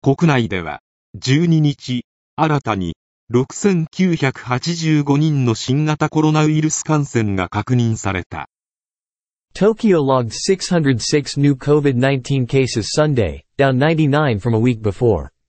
国内では12日、新たに6985人の新型コロナウイルス感染が確認された。 Tokyo logged 606 new COVID-19 cases Sunday, down 99 from a week before.